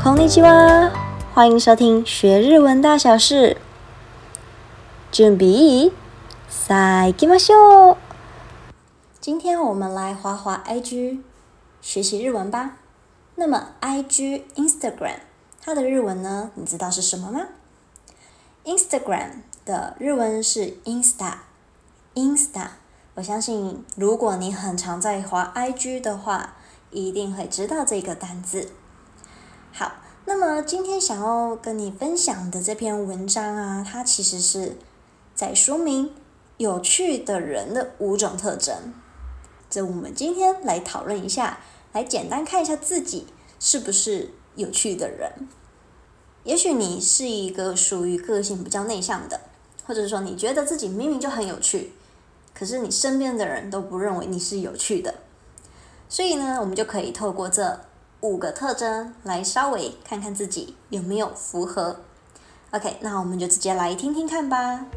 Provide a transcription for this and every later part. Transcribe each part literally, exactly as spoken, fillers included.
こんにちは，歡迎收聽學日文大小事。準備，さあ行きましょう。今天我們來滑滑 I G 學習日文吧。那麼 I G Instagram 它的日文呢，你知道是什麼嗎？ Instagram 的日文是 Insta，Insta。我相信如果你很常在滑 I G 的話，一定會知道這個單字。好，那麼今天想要跟你分享的這篇文章啊，它其實是在說明有趣的人的五種特徵。這我們今天來討論一下，來簡單看一下自己是不是有趣的人。也許你是一個屬於個性比較內向的，或者說你覺得自己明明就很有趣，可是你身邊的人都不認為你是有趣的。所以呢，我們就可以透過這五個特徵來稍微看看自己有沒有符合。OK， 那我們就直接來聽聽看吧。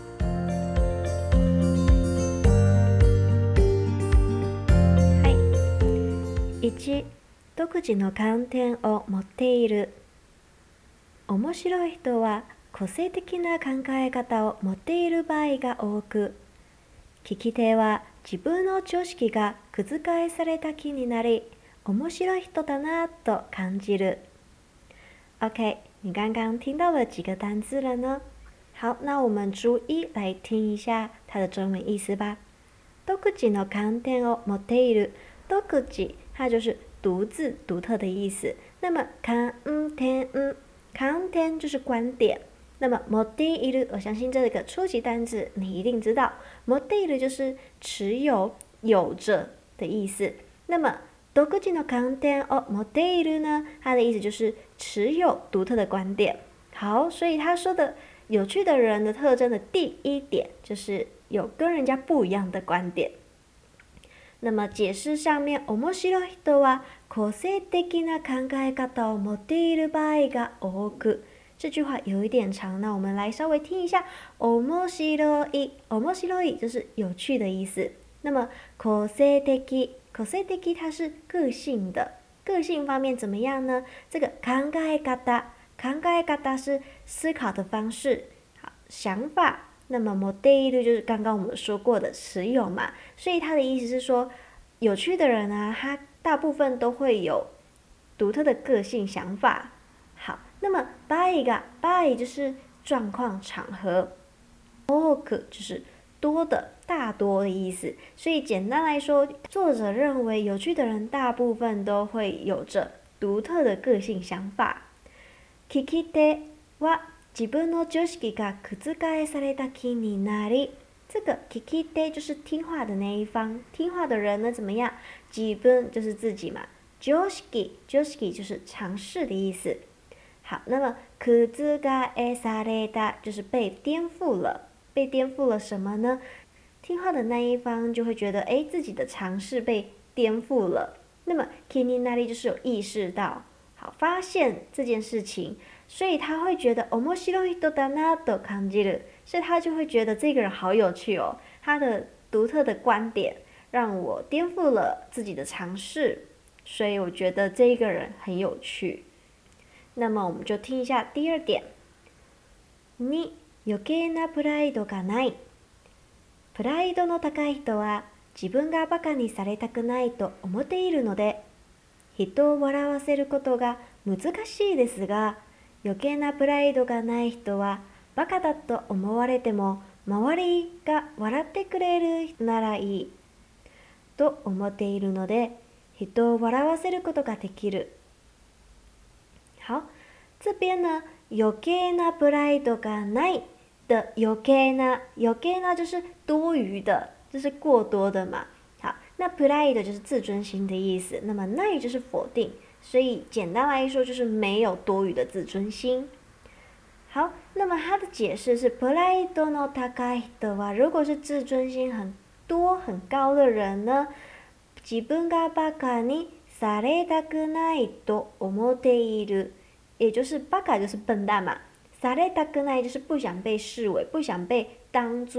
いち、独自の観点を持っている。面白い人は個性的な考え方を持っている場合が多く、聞き手は自分の常識が覆された気になり、面白い人だなと感じる。OK， 你剛剛聽到了幾個單字了呢？好，那我們逐一來聽一下它的中文意思吧。獨自の観點を持っている。獨自它就是獨自、獨特的意思。那麼観點、觀點就是觀點。那麼持っている，我相信這個初級單字你一定知道。持っている就是持有、有着的意思。那麼獨自の觀點を持っている呢，它的意思就是持有獨特的觀點。好，所以他說的有趣的人的特徵的第一點就是有跟人家不一樣的觀點。那麼解釋上面，面白い人は個性的な考え方を持っている場合が多く。這句話有一點長，那我們來稍微聽一下。面白い，面白い就是有趣的意思。那麼個性的，個性的它是個性的，個性方面怎麼樣呢？這個考え方，考え方是思考的方式，好，想法。那麼持っている就是剛剛我們說過的持有嘛，所以它的意思是說，有趣的人啊，他大部分都會有獨特的個性想法。好，那麼場合が、場合就是狀況場合，多く就是多的、大多的意思。所以簡單來說，作者認為有趣的人大部分都會有着獨特的個性想法。聞き手は自分の常識が覆された気になり，這個聞き手就是聽話的那一方，聽話的人呢怎麼樣？自分就是自己嘛，常識、常識就是常識的意思。好，那麼覆された就是被顛覆了，被顛覆了什麼呢？聽話的那一方就會覺得，哎，自己的常識被顛覆了。那麼気になり就是有意識到，好，發現這件事情。所以他會覺得面白い人だなと感じる，所以他就會覺得這個人好有趣哦，他的獨特的觀點讓我顛覆了自己的常識，所以我覺得這個人很有趣。那麼我們就聽一下第二點。に、余計なプライドがない。プライドの高い人は自分がバカにされたくないと思っているので、人を笑わせることが難しいですが、余計なプライドがない人はバカだと思われても周りが笑ってくれるならいいと思っているので、人を笑わせることができる。好，這邊呢，余計なプライドがない的余計な，余計な就是多餘的，就是過多的嘛。好，那プライド就是自尊心的意思，那麼ない就是否定。所以簡單來說就是沒有多餘的自尊心。好，那麼它的解釋是プライドの高い人は，如果是自尊心很多很高的人呢，自分がバカにされたくないと思っている，也就是バカ就是笨蛋嘛，されたくない就是不想被視為，不想被當作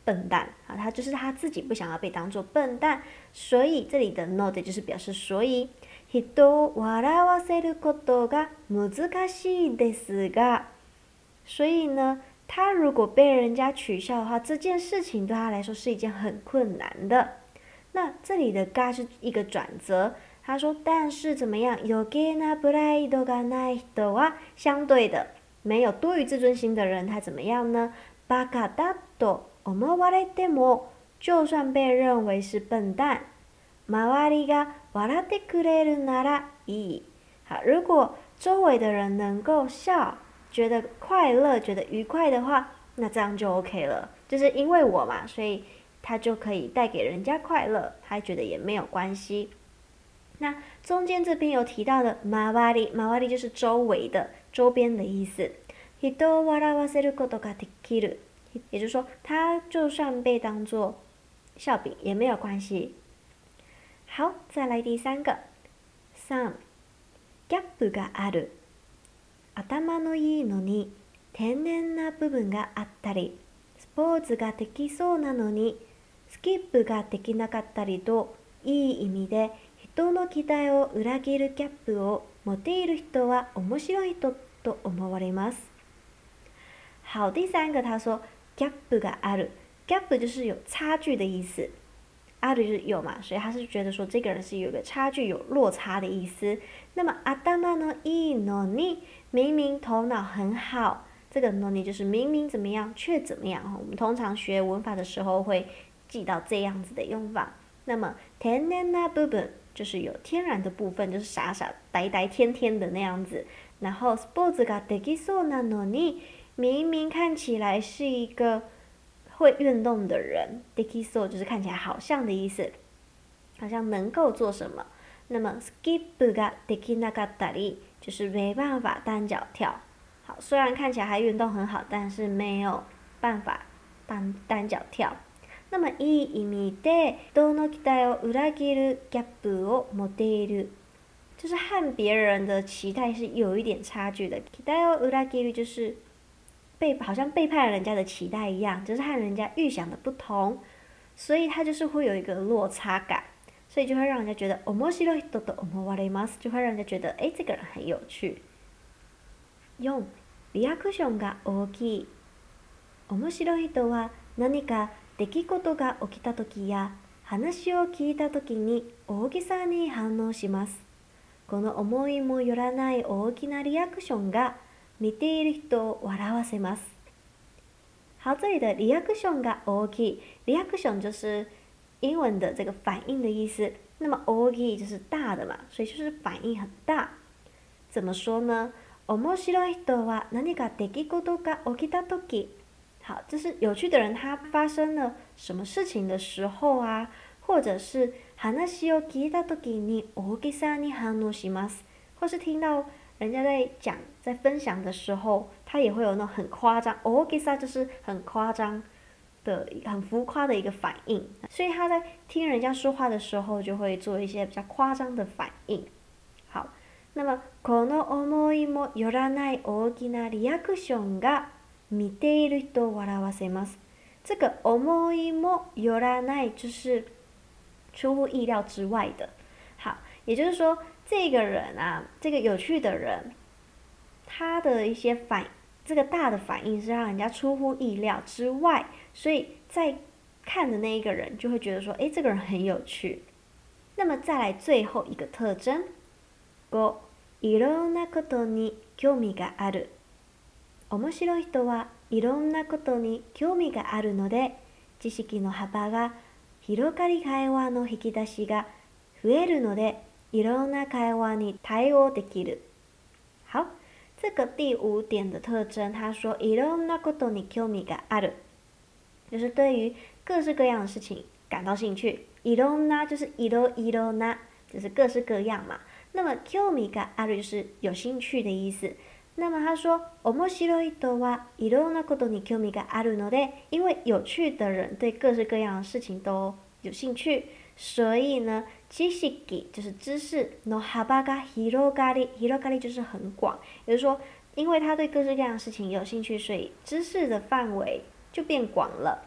笨蛋啊，他就是他自己不想要被當作笨蛋，所以這裡的ので就是表示所以。人を笑わせることが難しいですが，所以呢，他如果被人家取笑的話，這件事情對他來說是一件很困難的。那這裡的が是一個轉折，他說但是怎麼樣？余計なプライドがない人は相對的沒有多餘自尊心的人，他怎麼樣呢？バカだと思われても，就算被認為是笨蛋。周りが笑ってくれるならいい。好，如果周圍的人能夠笑，覺得快樂，覺得愉快的話，那這樣就 OK 了。就是因為我嘛，所以他就可以帶給人家快樂，他覺得也沒有關係。那中間這邊有提到的周り，周り就是周圍的、周邊的意思。人を笑わせることができる，也就是說，他就算被當作笑柄也沒有關係。好，再來第三個。三、ギャップがある。頭のいいのに天然な部分があったり、スポーツができそうなのにスキップができなかったりと、いい意味で人の期待を裏切るギャップを持っている人は面白い人と思われます。好，第三個他說ギャップがある。ギャップ就是有差距的意思。ある就是有嘛，所以他是覺得說這個人是有個差距、有落差的意思。那麼頭のいいのに，明明頭腦很好，這個のに就是明明怎麼樣卻怎麼樣。我們通常學文法的時候會記到這樣子的用法。那麼天然な部分就是有天然的部分，就是傻傻呆呆天天的那樣子。然後スポーツができそうなのに，明明看起來是一個會運動的人，できそう就是看起來好像的意思，好像能夠做什麼。那麼スキップができなかったり就是沒辦法單腳跳。好，雖然看起來還運動很好，但是沒有辦法單單腳跳。那麼いい意味で人の期待を裏切るギャップを持っている，就是和別人的期待是有一點差距的。期待を裏切る就是被好像背叛了人家的期待一樣，就是和人家預想的不同，所以他就是會有一個落差感，所以就會讓人家覺得面白い人と思われます，就會讓人家覺得哎，這個人很有趣。四、リアクションが大きい。面白い人は何か出来事が起きた時や話を聞いた時に大げさに反応します。この思いもよらない大きなリアクションが見ている人を笑わせます。好，這裡的リアクションが大きい，リアクション就是英文的這個反應的意思。那麼大きい就是大的嘛，所以就是反應很大。怎麼說呢？面白い人は何か出來事が起きたとき。好，就是有趣的人，他發生了什麼事情的時候啊，或者是話を聞いたときに大げさに反応します，或是聽到人家在講、在分享的時候，他也會有那種很誇張，大げさ就是很誇張的、很浮誇的一個反應，所以他在聽人家說話的時候，就會做一些比較誇張的反應。好，那麼この思いもよらない大きなリアクションが見ている人を笑わせます。這個思いもよらない就是出乎意料之外的。好，也就是說，這個人啊，這個有趣的人，他的一些反，這個大的反應是讓人家出乎意料之外，所以在看的那一個人就會覺得說，誒，這個人很有趣。那麼再來最後一個特徵，五、いろんなことに興味がある。面白い人はいろんなことに興味があるので、知識の幅が広がり、会話の引き出しが増えるので、いろんな会話に対応できる。好，這個第五點的特徵，他說いろんなことに興味がある，就是對於各式各樣的事情感到興趣。いろんな就是いろいろな，就是各式各樣嘛。那麼興味がある就是有興趣的意思。那麼他說面白い人はいろんなことに興味があるので，因為有趣的人對各式各樣的事情都有興趣，所以呢，知識就是知識の幅が広がり，広がり就是很廣，也就是說，因為他對各式各樣的事情有興趣，所以知識的範圍就變廣了。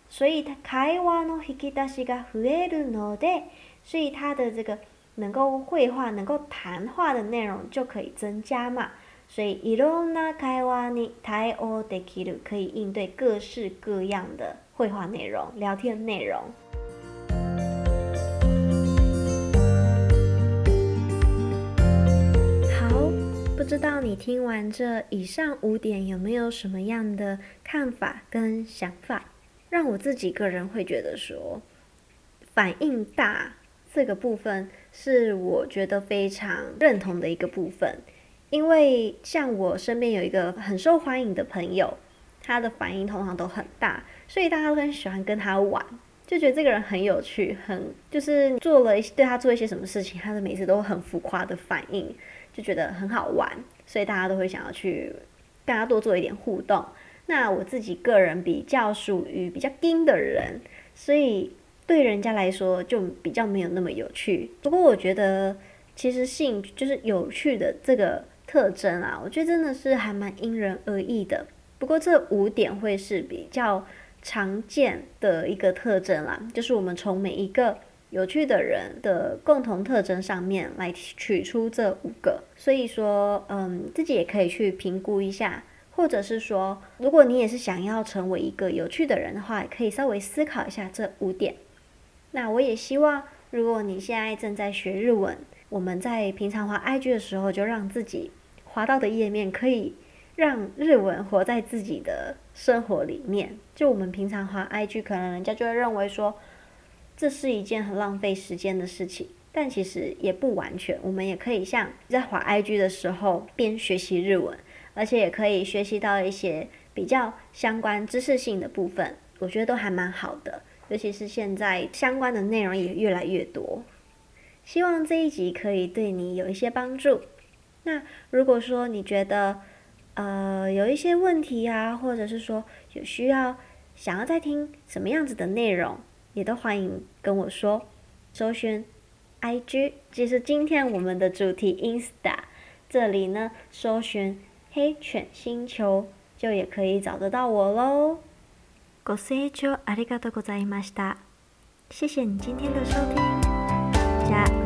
所以會話の引き出しが増えるので，所以它的這個能夠會話、能夠談話的內容就可以增加嘛。所以いろんな會話に対応できる，可以應對各式各樣的會話內容、聊天內容。好，不知道你聽完這以上五點有沒有什麼樣的看法跟想法？讓我自己個人會覺得說，反應大這個部分是我覺得非常認同的一個部分。因為像我身邊有一個很受歡迎的朋友，他的反應通常都很大，所以大家都很喜歡跟他玩，就覺得這個人很有趣，很就是做了對他做一些什麼事情，他的每次都很浮誇的反應，就覺得很好玩，所以大家都會想要去跟他多做一點互動。那我自己個人比較屬於比較硬的人，所以對人家來說就比較沒有那麼有趣。不過我覺得其實興趣就是有趣的這個特徵啊，我覺得真的是還蠻因人而異的。不過這五點會是比較常見的一個特徵啦，就是我們從每一個有趣的人的共同特徵上面來取出這五個。所以說，嗯，自己也可以去評估一下，或者是說，如果你也是想要成為一個有趣的人的話，也可以稍微思考一下這五點。那我也希望，如果你現在正在學日文，我們在平常滑 I G 的時候，就讓自己滑到的頁面可以讓日文活在自己的生活裡面。就我們平常滑 I G， 可能人家就會認為說這是一件很浪費時間的事情，但其實也不完全。我們也可以像在滑 I G 的時候邊學習日文，而且也可以學習到一些比較相關知識性的部分，我覺得都還蠻好的。尤其是現在相關的內容也越來越多。希望這一集可以對你有一些幫助。那如果說你覺得呃有一些問題啊，或者是說有需要想要再聽什麼樣子的內容，也都歡迎跟我說。搜尋 I G， 就是今天我們的主題 Insta， 這裡呢搜尋黑犬星球就也可以找得到我嘍。ご清聴ありがとうございました。謝謝你今天的收聽。じゃあ